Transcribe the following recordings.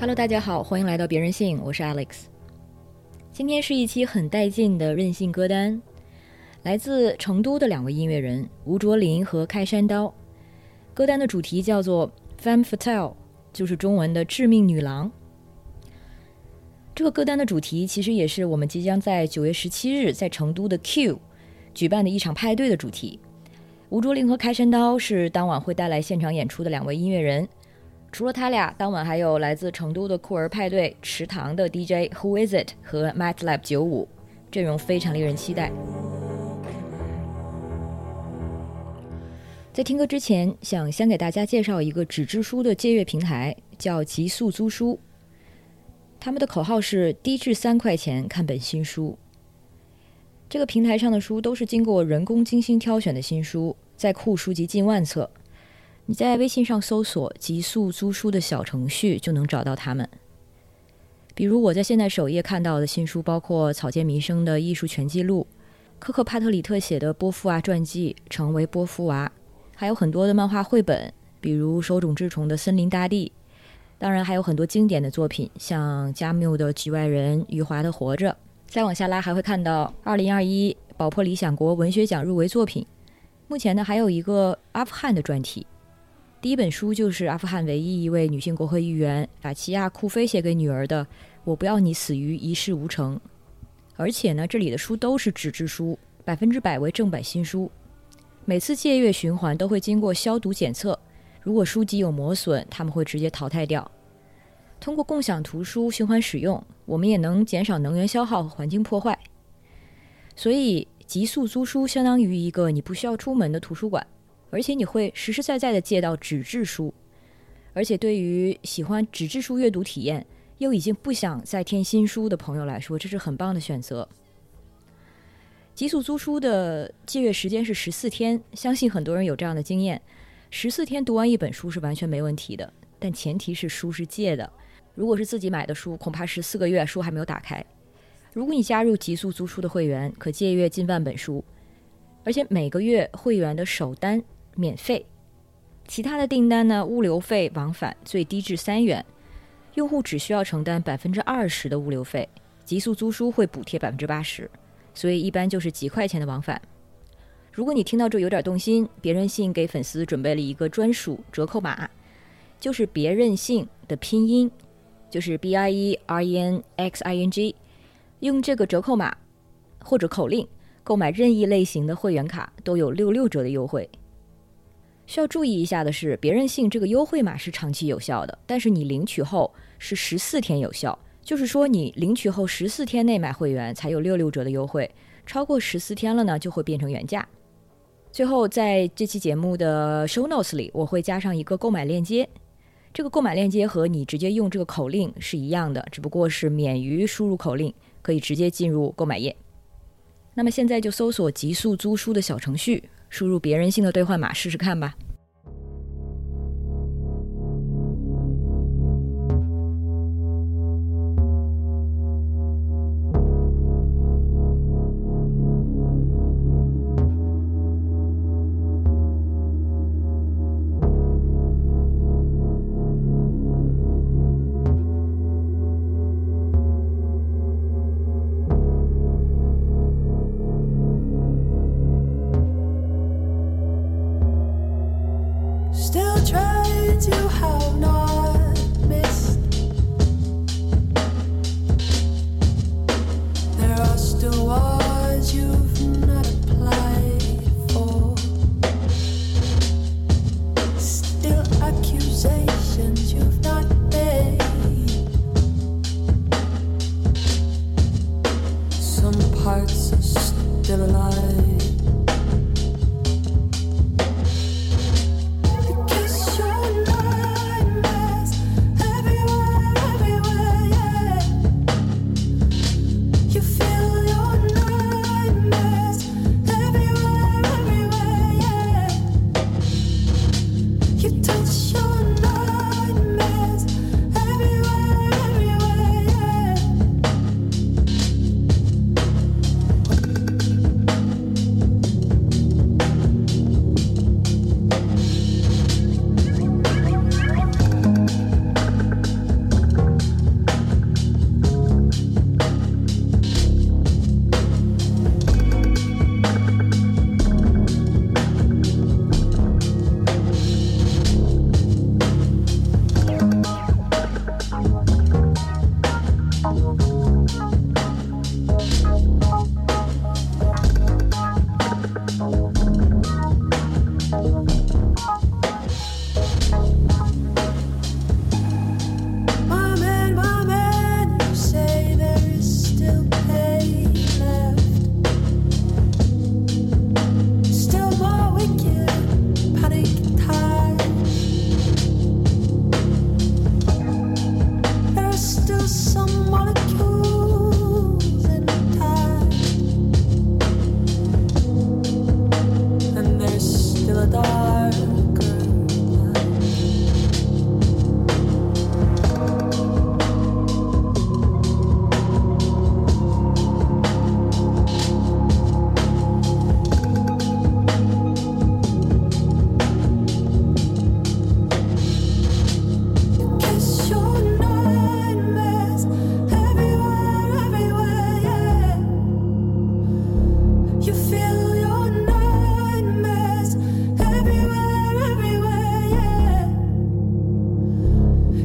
Hello， 大家好，欢迎来到别任性，我是 Alex。今天是一期很带劲的任性歌单，来自成都的两位音乐人吴卓林和开山刀。歌单的主题叫做 Femme Fatale， 就是中文的致命女郎。这个歌单的主题其实也是我们即将在9月17日在成都的 Q 举办的一场派对的主题。吴卓林和开山刀是当晚会带来现场演出的两位音乐人，除了他俩，当晚还有来自成都的酷儿派对池塘的 DJ Who Is It 和 MATLAB 95，阵容非常令人期待。在听歌之前，想先给大家介绍一个纸质书的借阅平台，叫极速租书。他们的口号是低至3块钱看本新书。这个平台上的书都是经过人工精心挑选的新书，在库书籍近万册。你在微信上搜索极速租书的小程序就能找到它们。比如我在现在首页看到的新书包括草间弥生的艺术全记录，科克帕特里特写的波伏娃传记成为波伏娃，还有很多的漫画绘本，比如手冢治虫的森林大地，当然还有很多经典的作品，像加缪的局外人、余华的活着。再往下拉还会看到2021宝珀理想国文学奖入围作品。目前呢还有一个阿富汗的专题，第一本书就是阿富汗唯一一位女性国会议员法奇亚·库菲写给女儿的《我不要你死于一事无成》。而且呢这里的书都是纸质书，100%为正版新书，每次借阅循环都会经过消毒检测，如果书籍有磨损，他们会直接淘汰掉。通过共享图书循环使用，我们也能减少能源消耗和环境破坏。所以极速租书相当于一个你不需要出门的图书馆，而且你会实实在在地借到纸质书。而且对于喜欢纸质书阅读体验又已经不想再添新书的朋友来说，这是很棒的选择。极速租书的借阅时间是14天，相信很多人有这样的经验，14天读完一本书是完全没问题的，但前提是书是借的。如果是自己买的书，恐怕14个月书还没有打开。如果你加入极速租书的会员，可借阅近万本书，而且每个月会员的首单免费，其他的订单呢，物流费往返最低至3元，用户只需要承担20%的物流费，极速租书会补贴80%，所以一般就是几块钱的往返。如果你听到这有点动心，别任性给粉丝准备了一个专属折扣码，就是别任性的拼音，就是 BIERENXING， 用这个折扣码或者口令购买任意类型的会员卡都有66折的优惠。需要注意一下的是，别任性这个优惠码是长期有效的，但是你领取后是14天有效，就是说你领取后14天内买会员才有66折的优惠，超过14天了呢就会变成原价。最后在这期节目的 show notes 里我会加上一个购买链接，这个购买链接和你直接用这个口令是一样的，只不过是免于输入口令，可以直接进入购买页。那么现在就搜索极速租书的小程序，输入别任性的兑换码试试看吧。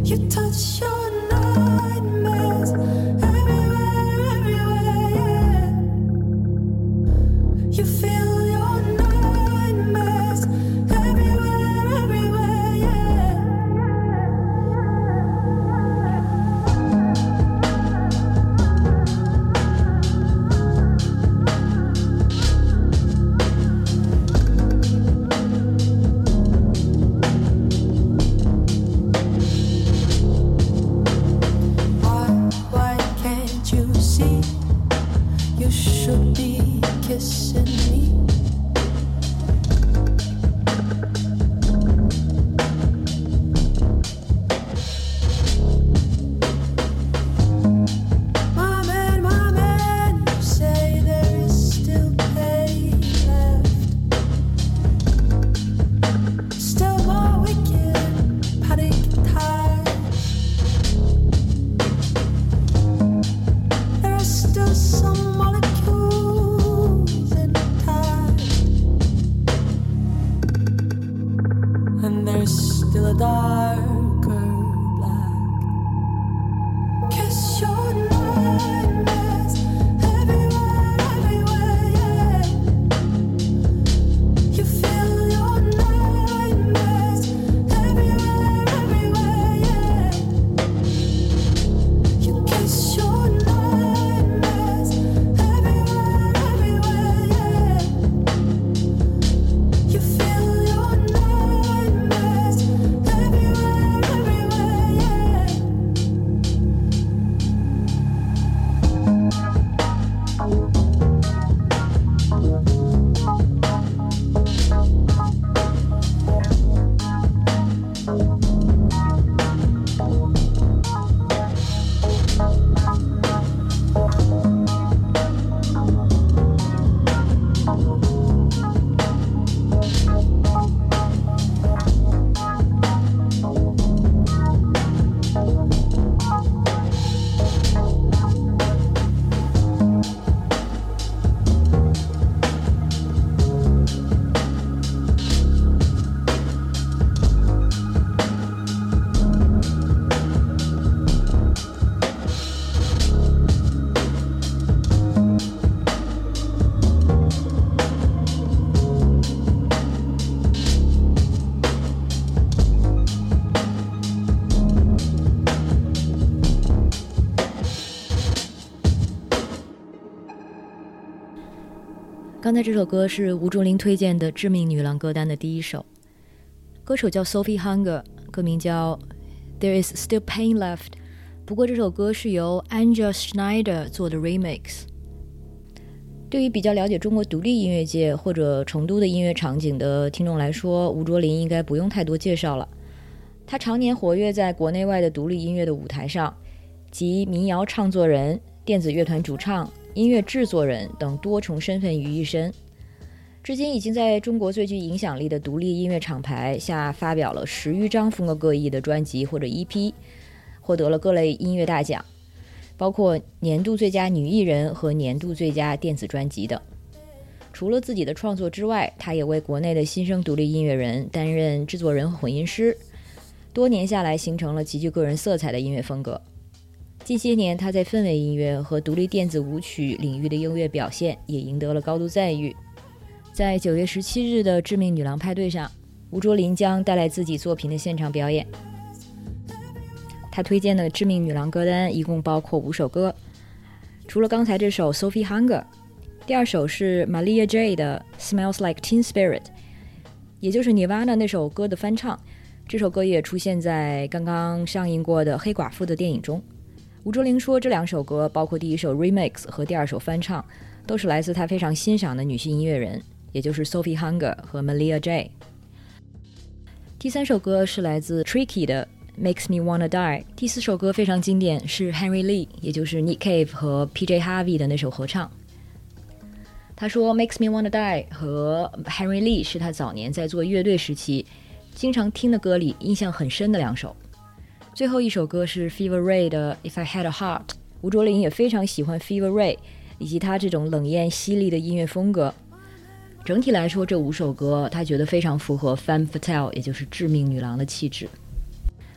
刚才这首歌是吴卓林推荐的致命女郎歌单的第一首，歌手叫 Sophie Hunger， 歌名叫 There is Still Pain Left， 不过这首歌是由 Anja Schneider 做的 remix。 对于比较了解中国独立音乐界或者成都的音乐场景的听众来说，吴卓林应该不用太多介绍了。他常年活跃在国内外的独立音乐的舞台上，集民谣唱作人、电子乐团主唱、音乐制作人等多重身份于一身，至今已经在中国最具影响力的独立音乐厂牌下发表了10余张风格各异的专辑或者 EP， 获得了各类音乐大奖，包括年度最佳女艺人和年度最佳电子专辑等。除了自己的创作之外，他也为国内的新生独立音乐人担任制作人和混音师，多年下来形成了极具个人色彩的音乐风格。近些年他在氛围音乐和独立电子舞曲领域的音乐表现也赢得了高度赞誉。在9月17日的致命女郎派对上，吴卓林将带来自己作品的现场表演。他推荐的致命女郎歌单一共包括5首歌，除了刚才这首 Sophie Hunger， 第二首是 Malia J 的 Smells Like Teen Spirit， 也就是 Nirvana 那首歌的翻唱，这首歌也出现在刚刚上映过的黑寡妇的电影中。吴卓林说，这2首歌包括第一首 remix 和第2首翻唱，都是来自他非常欣赏的女性音乐人，也就是 Sophie Hunger 和 Malia J。 第3首歌是来自 Tricky 的 Makes Me Wanna Die。 第4首歌非常经典，是 Henry Lee 也就是 Nick Cave 和 PJ Harvey 的那首合唱。他说 Makes Me Wanna Die 和 Henry Lee 是他早年在做乐队时期经常听的歌里印象很深的2首。最后一首歌是 Fever Ray 的 If I Had a Heart。 吴卓林也非常喜欢 Fever Ray 以及他这种冷艳犀利的音乐风格。整体来说，这5首歌他觉得非常符合 Femme Fatale 也就是致命女郎的气质。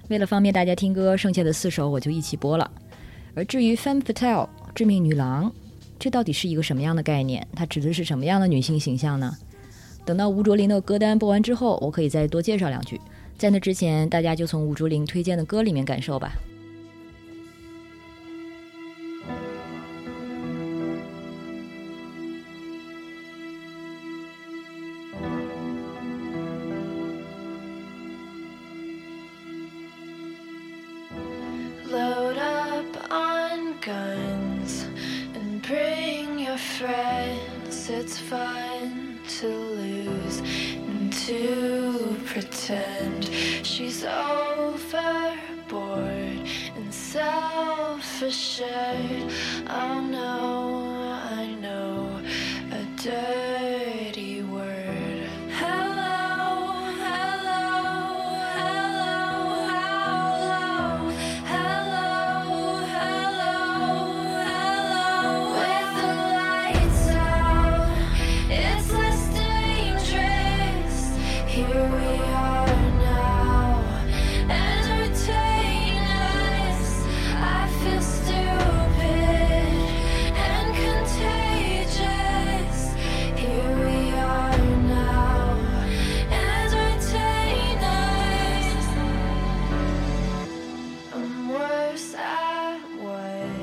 为了方便大家听歌，剩下的4首我就一起播了。而至于 Femme Fatale 致命女郎，这到底是一个什么样的概念？它指的是什么样的女性形象呢？等到吴卓林的歌单播完之后，我可以再多介绍2句。在那之前，大家就从吴卓林推荐的歌里面感受吧。 Load up on guns and bring your friends. It's fun to lose and to pretend she's overboard and self-assured. Oh no, I know a dirty word. Hello, hello, hello, hello, hello, hello. With the lights out, it's less dangerous. Here we are now, entertain us. I feel stupid and contagious. Here we are now, entertain us. I'm worse at what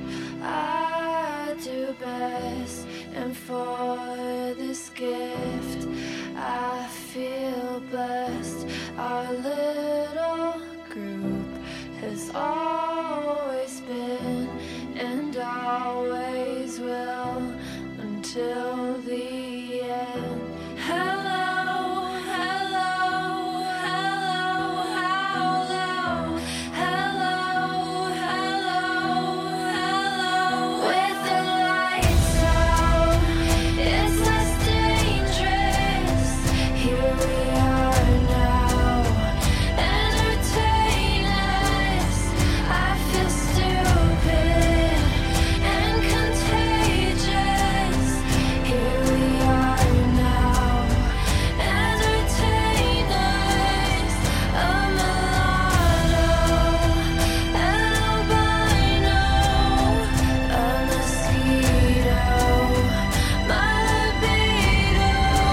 I do best, and for this gift I feel blessed. Our little group has always been and always will until the end. Hello, hello, hello, hello, hello, hello, hello. With the lights out, it's less dangerous. Here we are now, entertain us. I feel stupid and contagious. Here we are now, entertain us. A mulatto, an albino, a mosquito, my libido.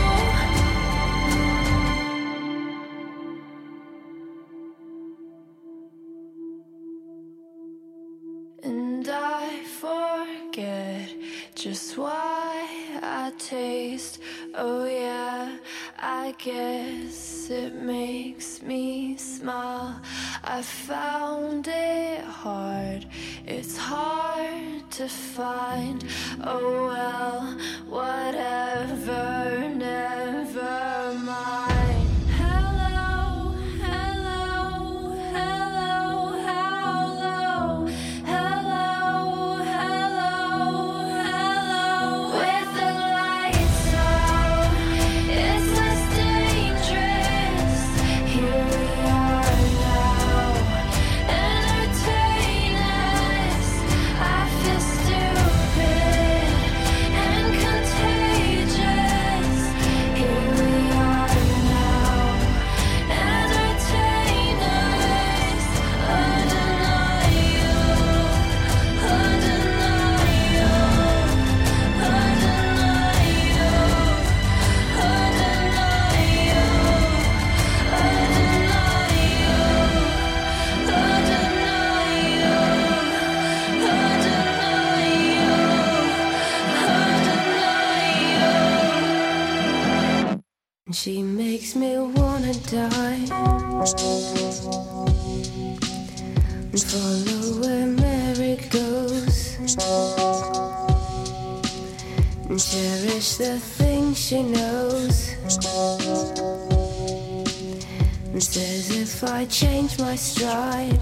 And I forget just why I taste. Oh yeah, I guess it makes me smile. I found it hard, it's hard to find. Oh well, whatever, never mind. Hello, hello, hello, hello, hello, hello, hello. With the lights out, it's less dangerous. Here we are now, entertain us. I feel stupid and contagious. Here we are now, entertain us. Undeniable, She makes me wanna die and follow where Mary goes and cherish the things she knows and says if I change my stride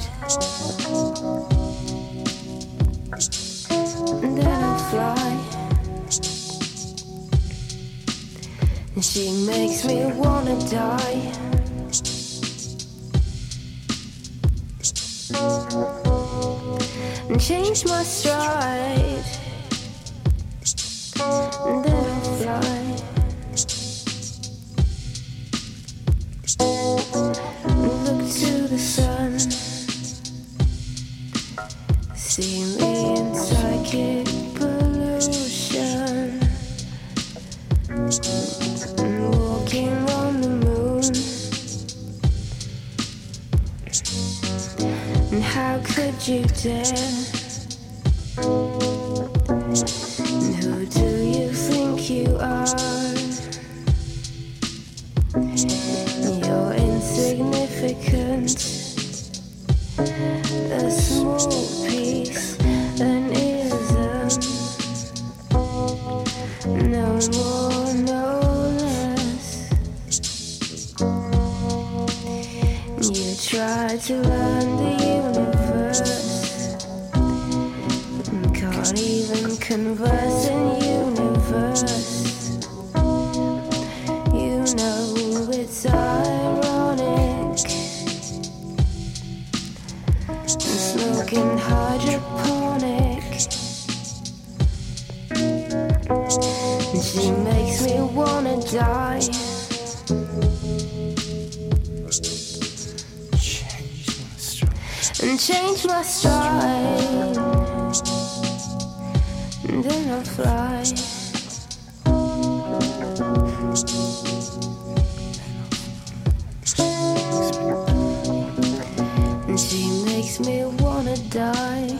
then I'll fly. And she makes me wanna die. And change my stride. And then I'll fly. And look to the sun. see me in psychic pollution, walking on the moon. And how could you dare? And who do you think you are? You're insignificant, a small piece, an ism, no more, no less. You try to learn the universe, can't even converse in universe. You know it's ironic, smoking hydroponic. And she makes me wanna die. And change my stride, and then I'll fly. And she makes me wanna die.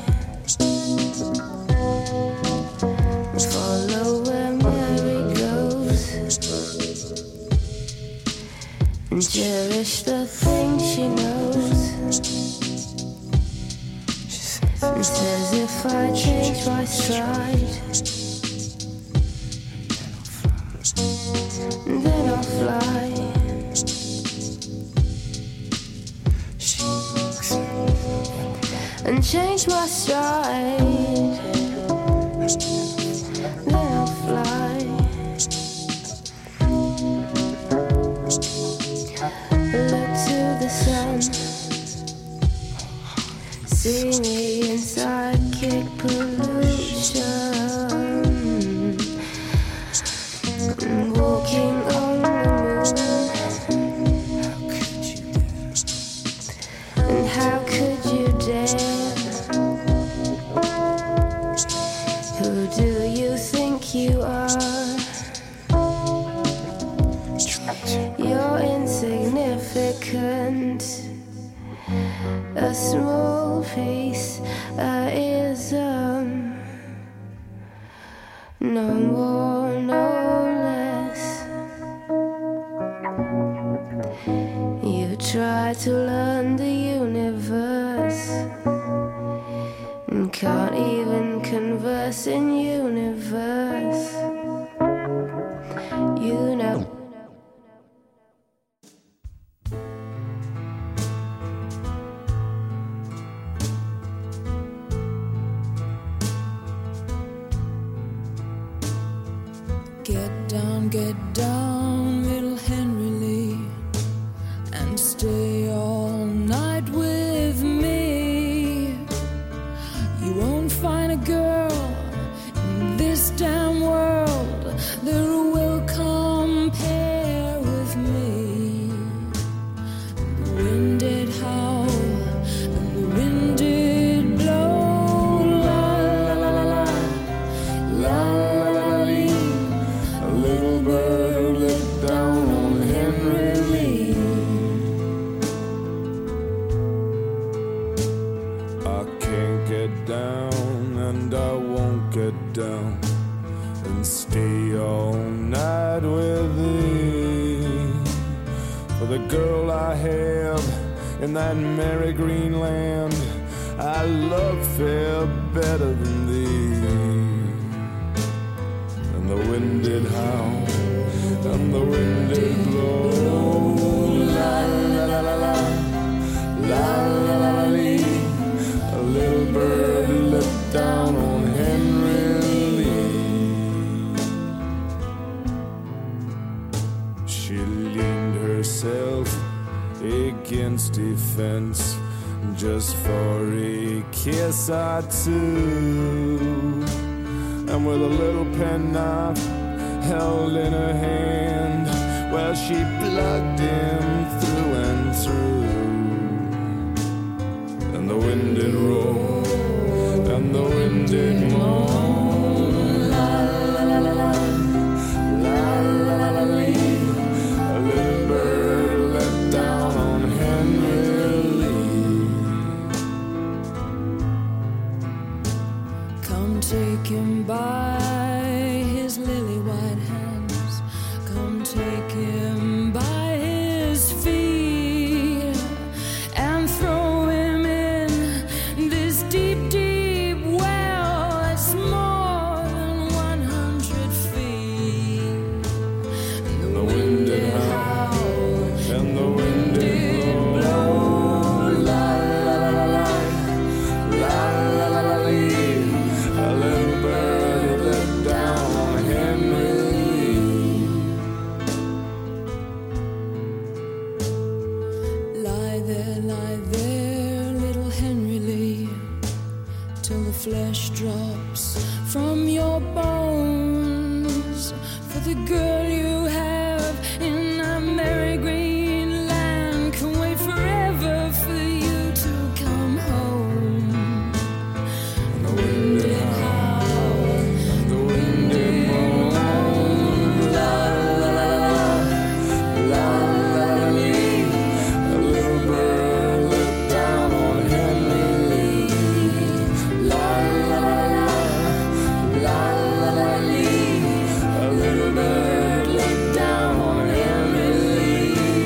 Follow where Mary goes, and cherish the things she knows. And says if I change my stride, then I'll fly. And change my stride, then I'll fly. Look to the sun, see me in psychic pollution, walking on the moon. And how could you dare? Who do you think you are? You're insignificant, a small piece, a ism, no more, no less. You try to learn the universe, and can't even converse in universe. You know. Get down, little Henry Lee, and stay all night with me. You won't find a girl in this damn world that will compare with me. The wind did howl and the wind did blow, la la la la la, la la la lee. A little bird looked down on Henry Lee. I can't get down and I won't get down and stay all night with thee. For the girl I have in that merry green land, I love fair better than thee. And the wind did howl and the wind did blow, la la la la la, la la la la lee. A little bird looked down on Henry Lee. She leaned herself against a fence just for a kiss or two, and with a little penknife held in her hand, well, she plugged him through and through. And the wind did roll till the flesh drops from your bones. For the girl you have in that merry green land can wait forever for you to come home. And the wind did howl, the wind did moan. La la la la la la lee. A little bird looked down on Henry Lee. La la la la la la lee. A little bird looked down on Henry Lee.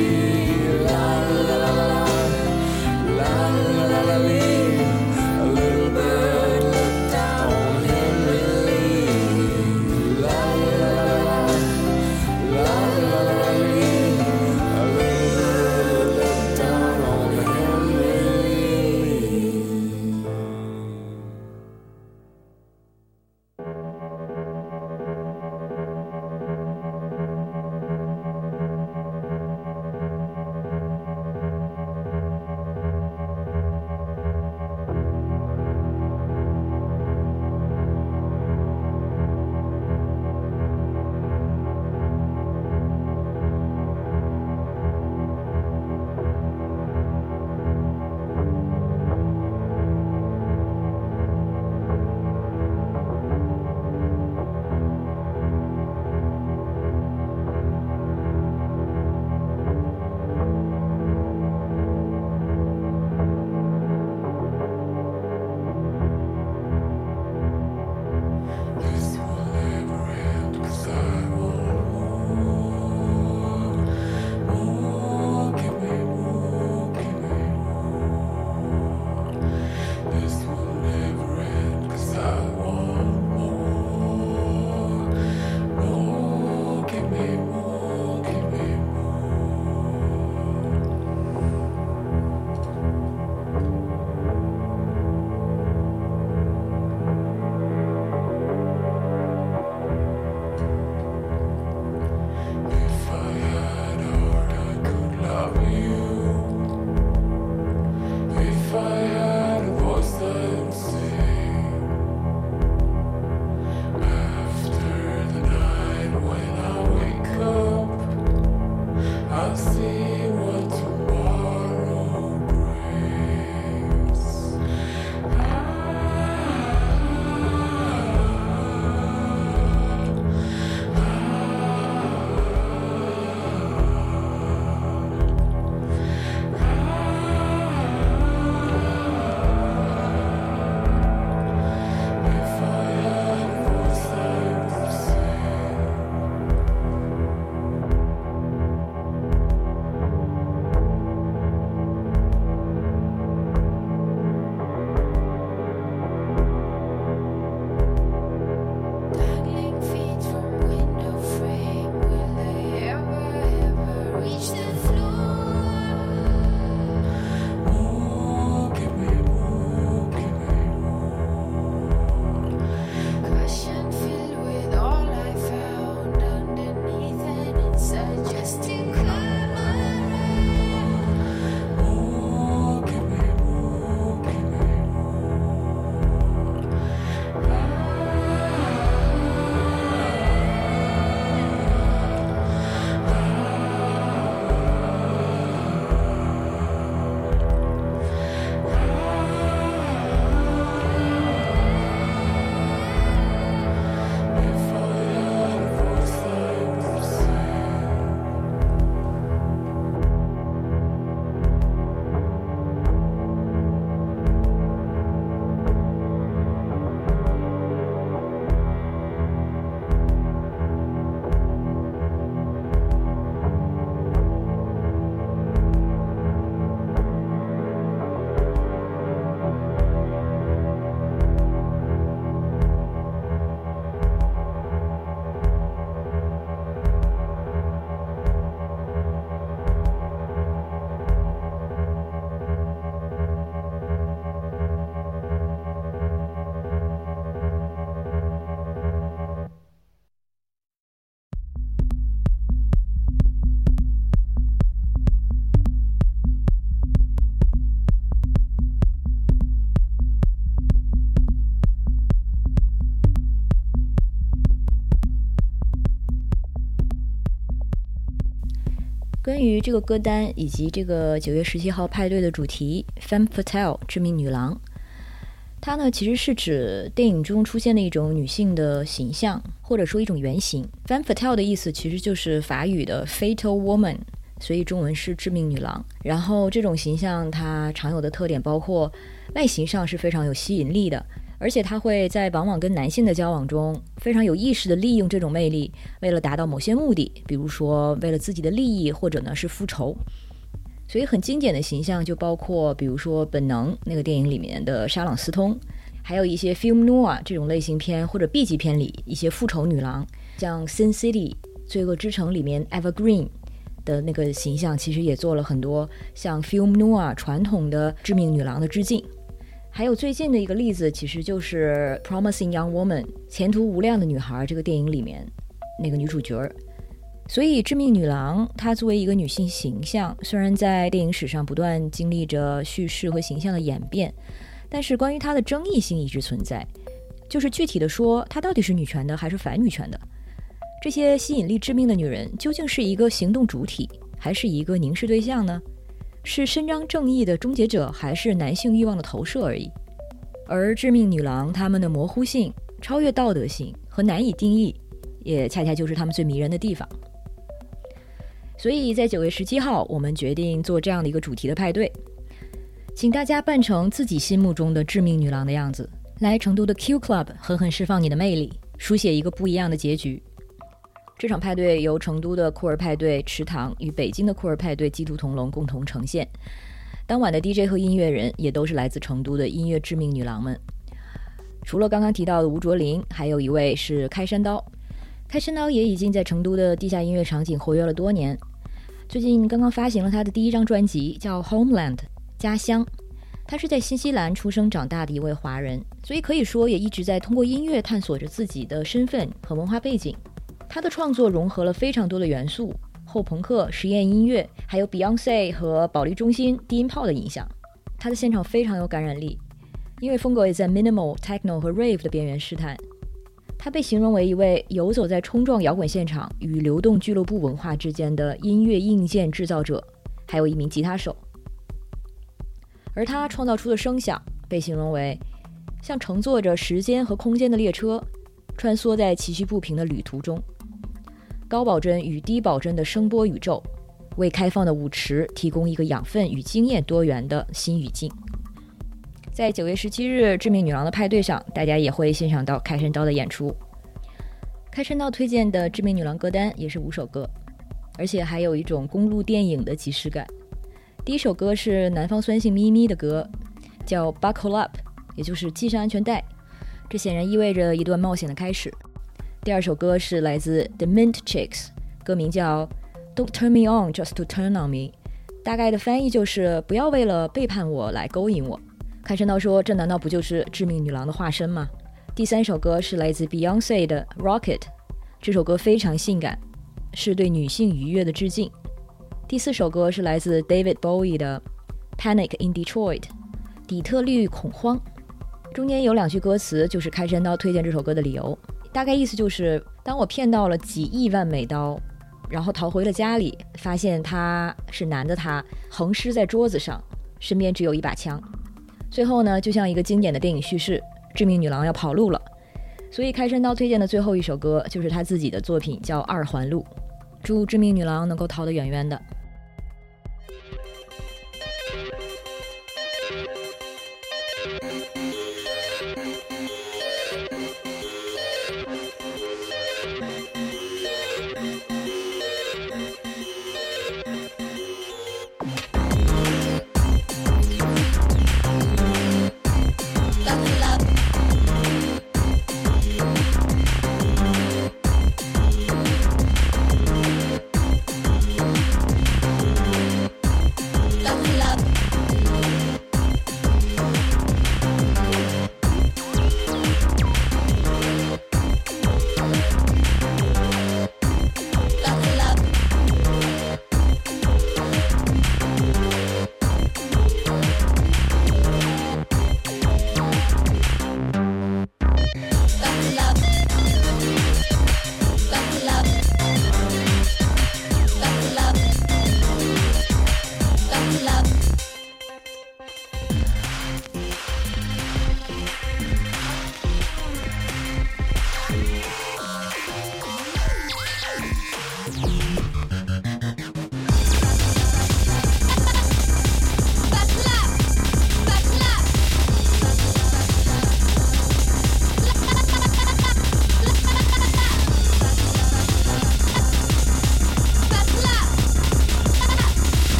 关于这个歌单以及这个9月17号派对的主题 Femme Fatale 致命女郎，它呢其实是指电影中出现的一种女性的形象，或者说一种原型。 Femme Fatale 的意思其实就是法语的 Fatal Woman， 所以中文是致命女郎。然后这种形象它常有的特点包括外形上是非常有吸引力的，而且它会在往往跟男性的交往中非常有意识地利用这种魅力，为了达到某些目的，比如说为了自己的利益，或者呢是复仇。所以很经典的形象就包括比如说本能那个电影里面的莎朗斯通，还有一些 film noir 这种类型片或者 B 级片里一些复仇女郎，像 Sin City 罪恶之城里面 Eva Green 的那个形象，其实也做了很多像 film noir 传统的致命女郎的致敬。还有最近的一个例子其实就是 Promising Young Woman 前途无量的女孩这个电影里面那个女主角。所以致命女郎她作为一个女性形象，虽然在电影史上不断经历着叙事和形象的演变，但是关于她的争议性一直存在，就是具体的说她到底是女权的还是反女权的。这些吸引力致命的女人究竟是一个行动主体还是一个凝视对象呢？是伸张正义的终结者还是男性欲望的投射而已。而致命女郎她们的模糊性、超越道德性和难以定义，也恰恰就是她们最迷人的地方。所以在9月17号我们决定做这样的一个主题的派对，请大家扮成自己心目中的致命女郎的样子，来成都的 Q Club 狠狠释放你的魅力，书写一个不一样的结局。这场派对由成都的酷儿派对池塘与北京的酷儿派对鸡兔同笼共同呈现，当晚的 DJ 和音乐人也都是来自成都的音乐致命女郎们。除了刚刚提到的吴卓林，还有一位是开山刀。开山刀也已经在成都的地下音乐场景活跃了多年，最近刚刚发行了他的第1张专辑叫 Homeland 家乡。他是在新西兰出生长大的一位华人，所以可以说也一直在通过音乐探索着自己的身份和文化背景。他的创作融合了非常多的元素，后朋克、实验音乐，还有 Beyoncé 和保利中心低音炮的影响。他的现场非常有感染力，音乐风格也在 minimal、techno 和 rave 的边缘试探。他被形容为一位游走在冲撞摇滚现场与流动俱乐部文化之间的音乐硬件制造者，还有一名吉他手。而他创造出的声响被形容为像乘坐着时间和空间的列车，穿梭在崎岖不平的旅途中。高保真与低保真的声波宇宙，为开放的舞池提供一个养分与经验多元的新语境。在9月17日致命女郎的派对上，大家也会欣赏到开山刀的演出。开山刀推荐的致命女郎歌单也是5首歌，而且还有一种公路电影的即视感。第1首歌是南方酸性咪咪的歌，叫 Buckle Up， 也就是系上安全带，这显然意味着一段冒险的开始。第2首歌是来自 The Mint Chicks， 歌名叫 Don't Turn Me On Just to Turn On Me， 大概的翻译就是不要为了背叛我来勾引我。开山刀说，这难道不就是致命女郎的化身吗？第3首歌是来自 Beyoncé 的 Rocket， 这首歌非常性感，是对女性愉悦的致敬。第4首歌是来自 David Bowie 的 Panic in Detroit， 底特律恐慌。中间有2句歌词就是开山刀推荐这首歌的理由，大概意思就是当我骗到了几亿万美刀，然后逃回了家里，发现他是男的，他横尸在桌子上，身边只有一把枪。最后呢，就像一个经典的电影叙事，致命女郎要跑路了，所以开山刀推荐的最后1首歌就是他自己的作品，叫二环路。祝致命女郎能够逃得远远的。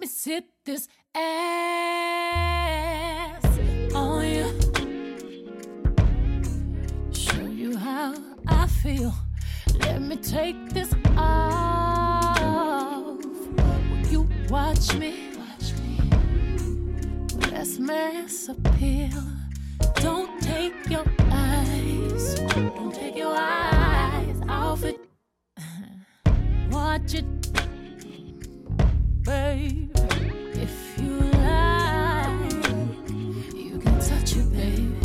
me sit this ass on you. Show you how I feel. Let me take this off. Will you watch me? Let's mass appeal. Don't take your eyes. Don't take your eyes off it. Watch it, babe. If you like, you can touch it, baby.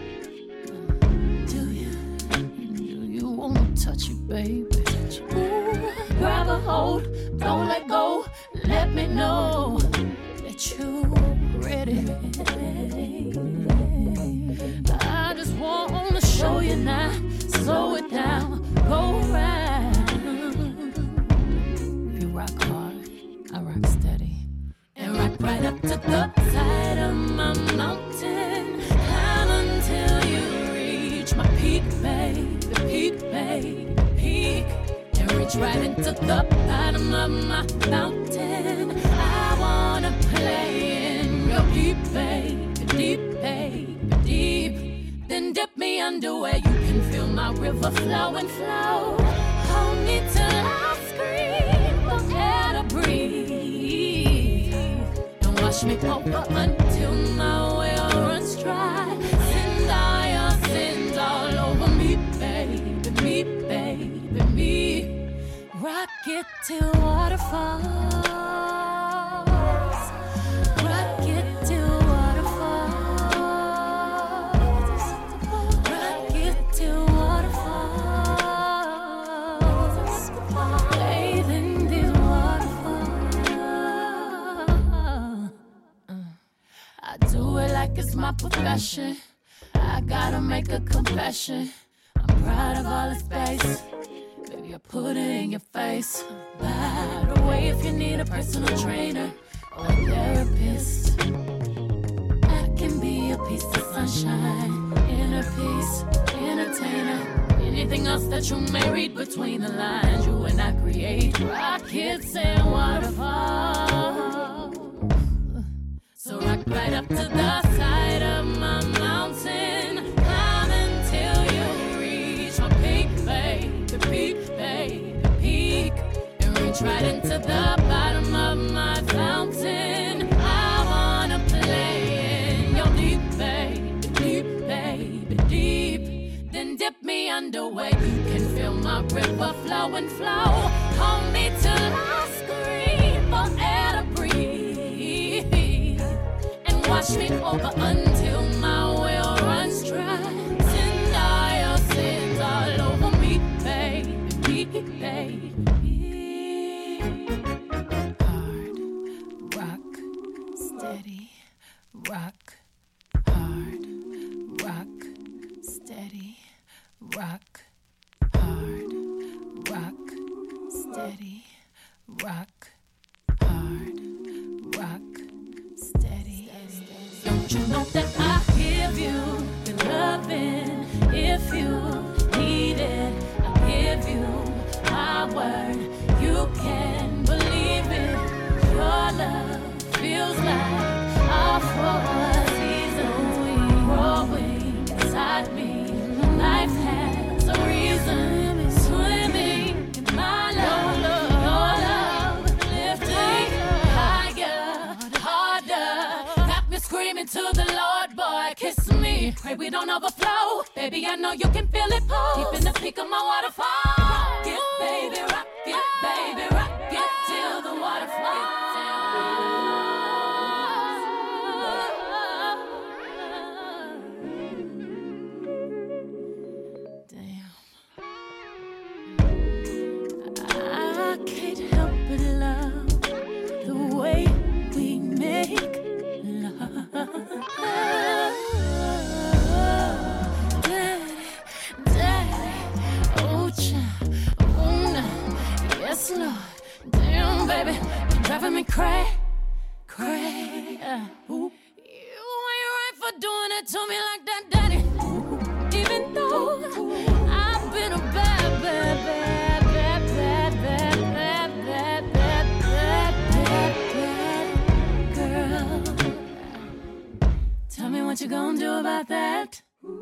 Do you wanna touch it, baby? Ooh, grab a hold, don't let go. Let me know that you ready. I just wanna show you now. Slow it down, go right. You rock hard, I rock steady. And rock right up to the side of my mountain. Climb until you reach my peak, baby, peak, baby, peak. And reach right into the bottom of my mountain. I wanna play in your deep, baby, deep, baby, deep. Then dip me under where you can feel my river flow and flow. Hold me till I scream for air to breathe. And wash me over until my well runs dry. Send all your sins all over me, baby, me, baby, me. Rock it till waterfalls. Rock it till waterfalls. Rock it till waterfalls. Bathe in these waterfalls. I do it like it's my profession. I gotta make a confession. I'm proud of all the space. Baby, I put it in your face. By the way, if you need a personal trainer or a therapist, I can be a piece of sunshine, inner peace, entertainer. Anything else that you may read between the lines, you and I create rockets and waterfalls. So rock right up to the side of my mountain. Climb until you reach my peak, baby, peak, baby, peak. And reach right into the bottom of my fountain. I wanna play in your deep, baby, deep, baby, deep. Then dip me under where you can feel my river flow and flow. Hold me till I scream for air to breathe. And wash me over until my well runs dry. Send all your sins all over me, baby, baby. Hard, rock, steady, rock, hard, rock, steady, rock, hard, rock, steady, rock, hard, rock, steady. Don't you know that I give you your loving? If you need it, I give you my word. You can believe it. Your love feels like a four season growing inside me. Life has a reason. Swimming in my love. Your love lifting higher, harder. Got me screaming to the Lord, boy, kiss me. Pray we don't overflow. Baby, I know you can feel it pull. Deep in the peak of my waterfall. Rock it, baby, rock it, baby, rock it till the waterfall. Damn. I can't help but love the way we make love. Daddy, daddy, oh child, oh no, yes Lord, damn baby, you're driving me crazy. You ain't right for doing it to me like that, daddy. Even though I've been a bad, bad, bad, bad, bad, bad, bad, bad, bad, bad, bad, bad, what you gonna do about that?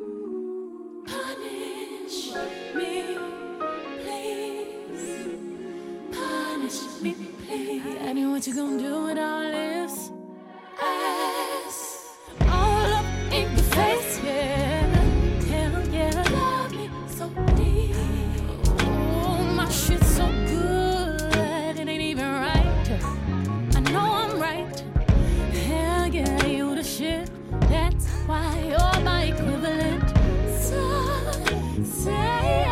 Punish me, please. Punish me, please. I mean, what you gonna do with all this ass all up in your face? Yeah, hell yeah. Love me so deep. Oh, my shit's so good, it ain't even right. I know I'm right. Hell yeah, you the shit. That's why you're my equivalent. So say,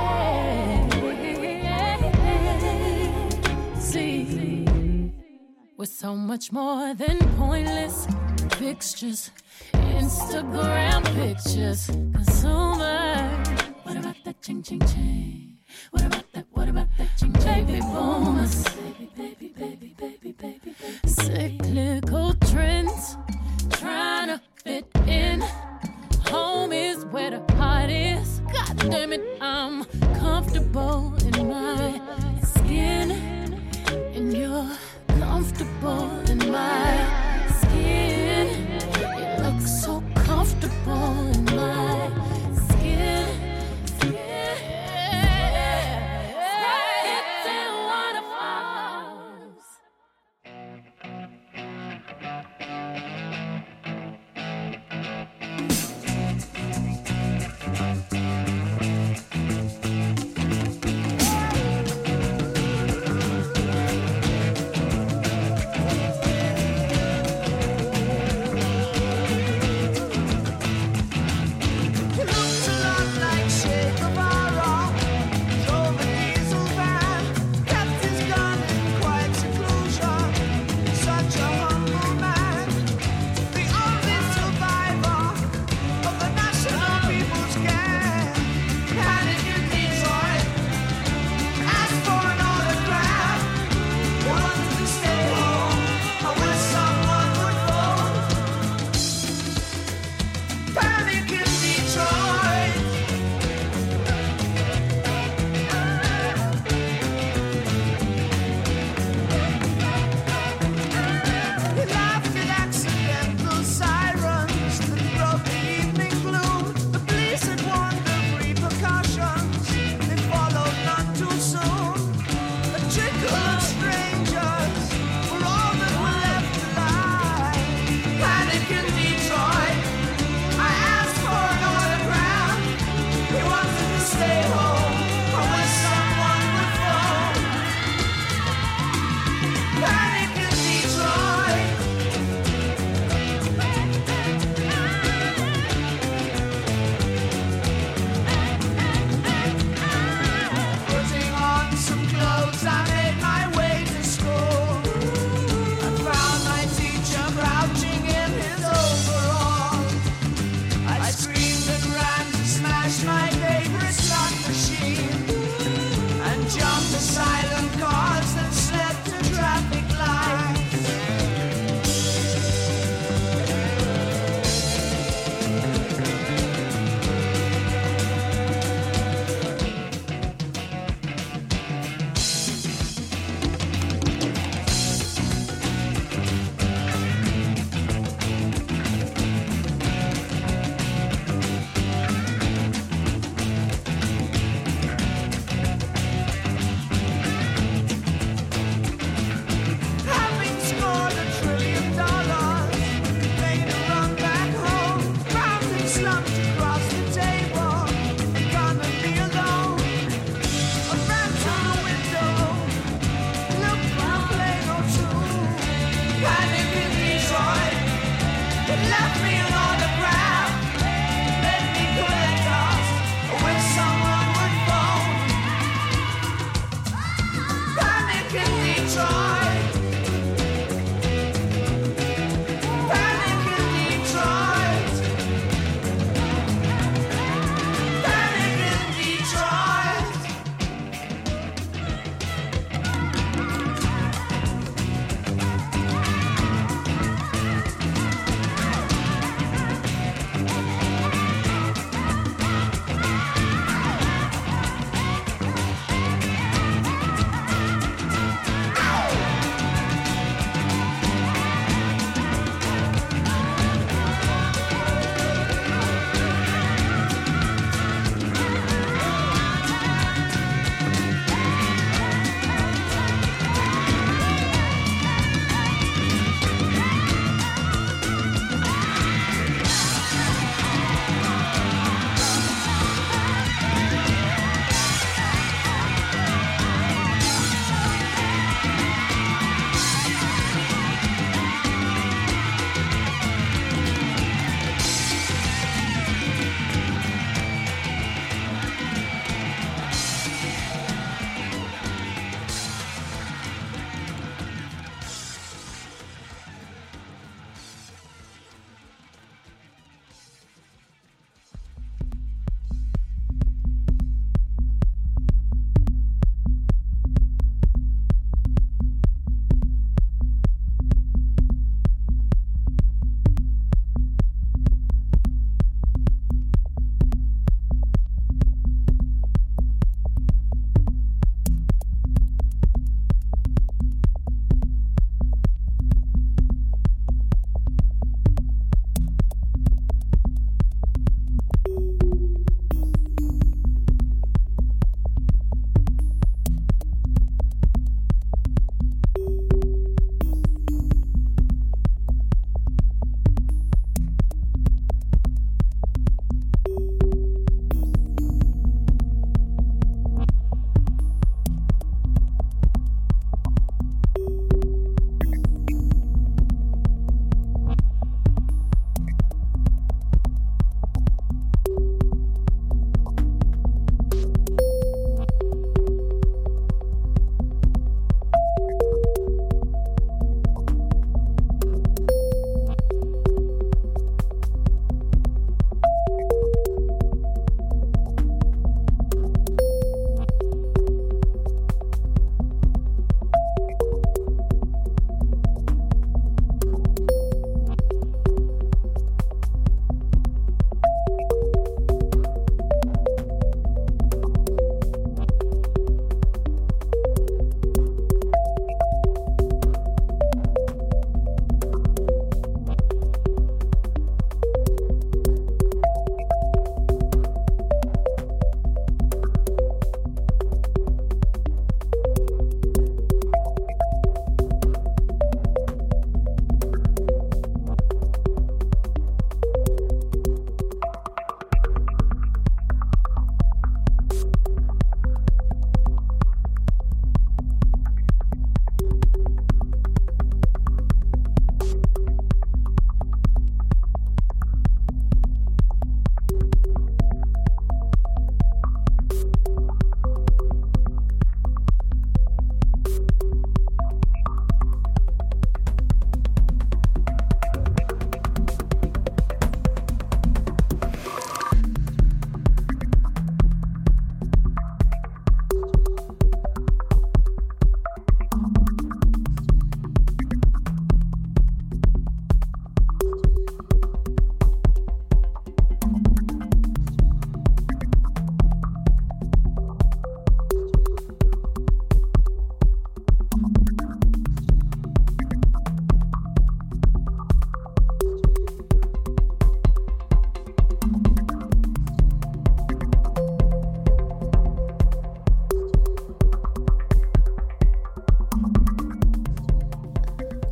see, we're so much more than pointless fixtures, Instagram pictures. Consumer, what about that ching ching ching? What about that ching ching? Baby boomers, baby. Cyclical trends, trying to fit in. Home is where the heart is. God damn it, I'm comfortable in my skin, and you're comfortable in my skin. It looks so comfortable in my skin. It's in waterfalls.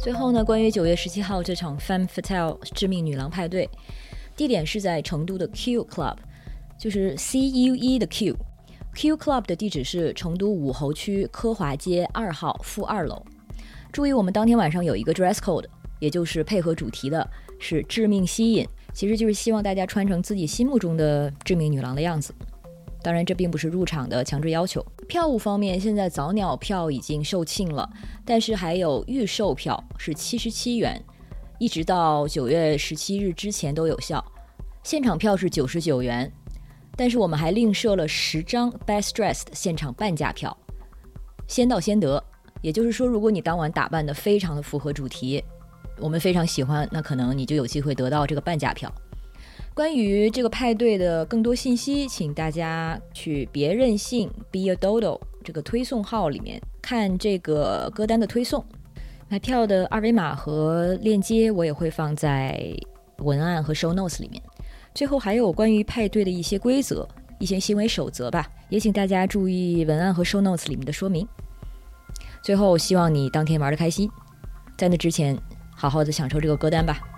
最后呢，关于9月17号这场 Femme Fatale 致命女郎派对，地点是在成都的 Q Club， 就是 CUE 的 Q。Q Club 的地址是成都武侯区科华街2号负2楼。注意，我们当天晚上有一个 dress code， 也就是配合主题的是致命吸引，其实就是希望大家穿成自己心目中的致命女郎的样子。当然这并不是入场的强制要求。票务方面，现在早鸟票已经售罄了，但是还有预售票是77元，一直到9月17日之前都有效。现场票是99元，但是我们还另设了10张 Best Dressed 现场半价票，先到先得。也就是说，如果你当晚打扮得非常的符合主题，我们非常喜欢，那可能你就有机会得到这个半价票。关于这个派对的更多信息，请大家去别任性 Be a Dodo 这个推送号里面看这个歌单的推送。买票的二维码和链接我也会放在文案和 show notes 里面。最后还有关于派对的一些规则，一些行为守则吧，也请大家注意文案和 show notes 里面的说明。最后希望你当天玩得开心，在那之前好好的享受这个歌单吧。